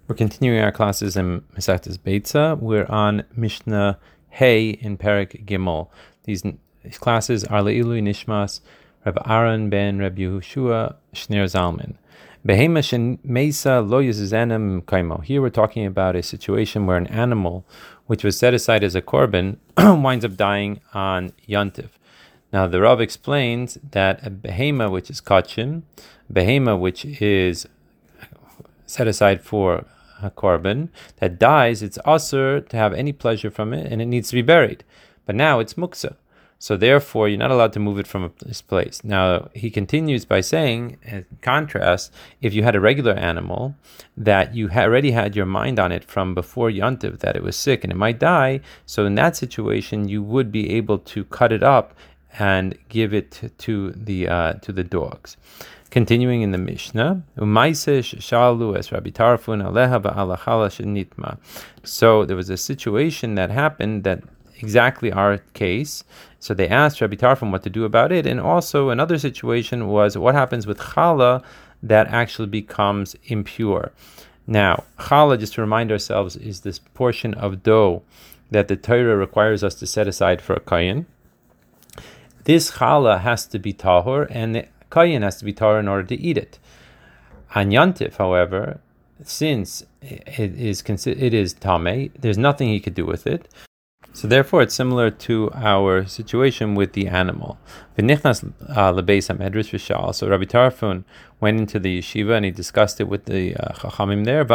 We're continuing our classes in Masechtas Beitza. We're on Mishnah Hey in Perek Gimel. These classes are Le'ilui Nishmas Reb Aaron ben Reb Yehoshua Shner Zalman. Behema shemeisa lo yizenem kaimo. Here we're talking about a situation where an animal, which was set aside as a korban, winds up dying on Yontif. Now the Rav explains that a behema, which is kachim, behema, which is set aside for a korban, that dies, it's asur to have any pleasure from it, and it needs to be buried. But now it's muksa. So therefore, you're not allowed to move it from this place. Now, he continues by saying, in contrast, if you had a regular animal that you already had your mind on it from before Yontiv, that it was sick and it might die, so in that situation, you would be able to cut it up and give it to the dogs. Continuing in the Mishnah, so there was a situation that happened that exactly our case. So they asked Rabbi Tarfon what to do about it. And also another situation was what happens with challah that actually becomes impure. Now, challah, just to remind ourselves, is this portion of dough that the Torah requires us to set aside for a kayin. This challah has to be tahor, and the kayin has to be tahor in order to eat it. On Yantif, however, since it is tameh, there's nothing he could do with it. So therefore, it's similar to our situation with the animal. So Rabbi Tarfon went into the yeshiva and he discussed it with the chachamim there.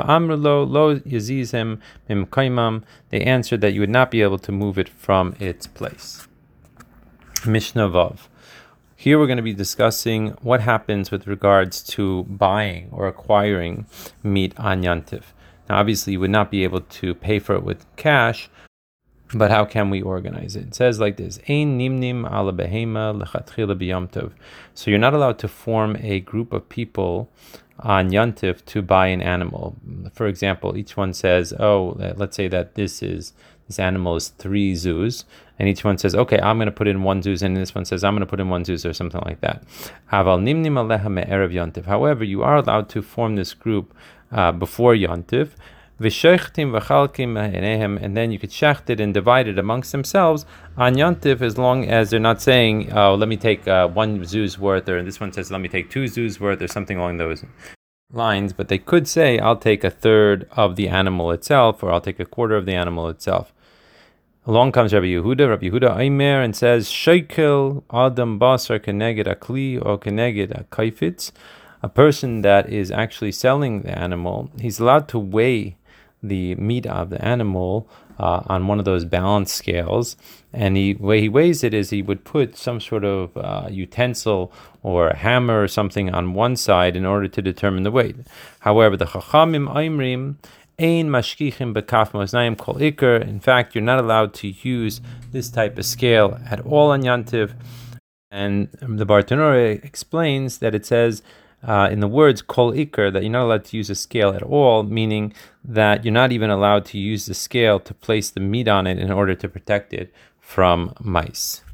They answered that you would not be able to move it from its place. Mishnah Vav. Here we're going to be discussing what happens with regards to buying or acquiring meat on Yantif. Now, obviously, you would not be able to pay for it with cash, but how can we organize it? It says like this: Ein nimnim ala behema lechatchila b'yomtov. So you're not allowed to form a group of people on Yontif to buy an animal. For example, each one says, let's say that this animal is 3 zuz, and each one says, okay, I'm going to put in 1 zuz, and this one says, I'm going to put in 1 zuz, or something like that. Aval nimnim aleha me'erev Yontif. However, you are allowed to form this group before Yontif, and then you could shecht it and divide it amongst themselves on Yontif, as long as they're not saying, let me take 1 zuz worth, or this one says, let me take 2 zuz worth, or something along those lines. But they could say, I'll take 1/3 of the animal itself, or I'll take 1/4 of the animal itself. Along comes Rabbi Yehuda Aimer, and says, Shekel Adam Basar Keneged Akli or Keneged Akaifitz. A person that is actually selling the animal, he's allowed to weigh the meat of the animal on one of those balance scales, and the way he weighs it is he would put some sort of utensil or a hammer or something on one side in order to determine the weight. However, the Chachamim Aimrim ein mashkichim bekaf moznayim kol ikar. In fact, you're not allowed to use this type of scale at all on Yantiv. And the Bartanura explains that it says in the words kol ikar that you're not allowed to use a scale at all, meaning that you're not even allowed to use the scale to place the meat on it in order to protect it from mice.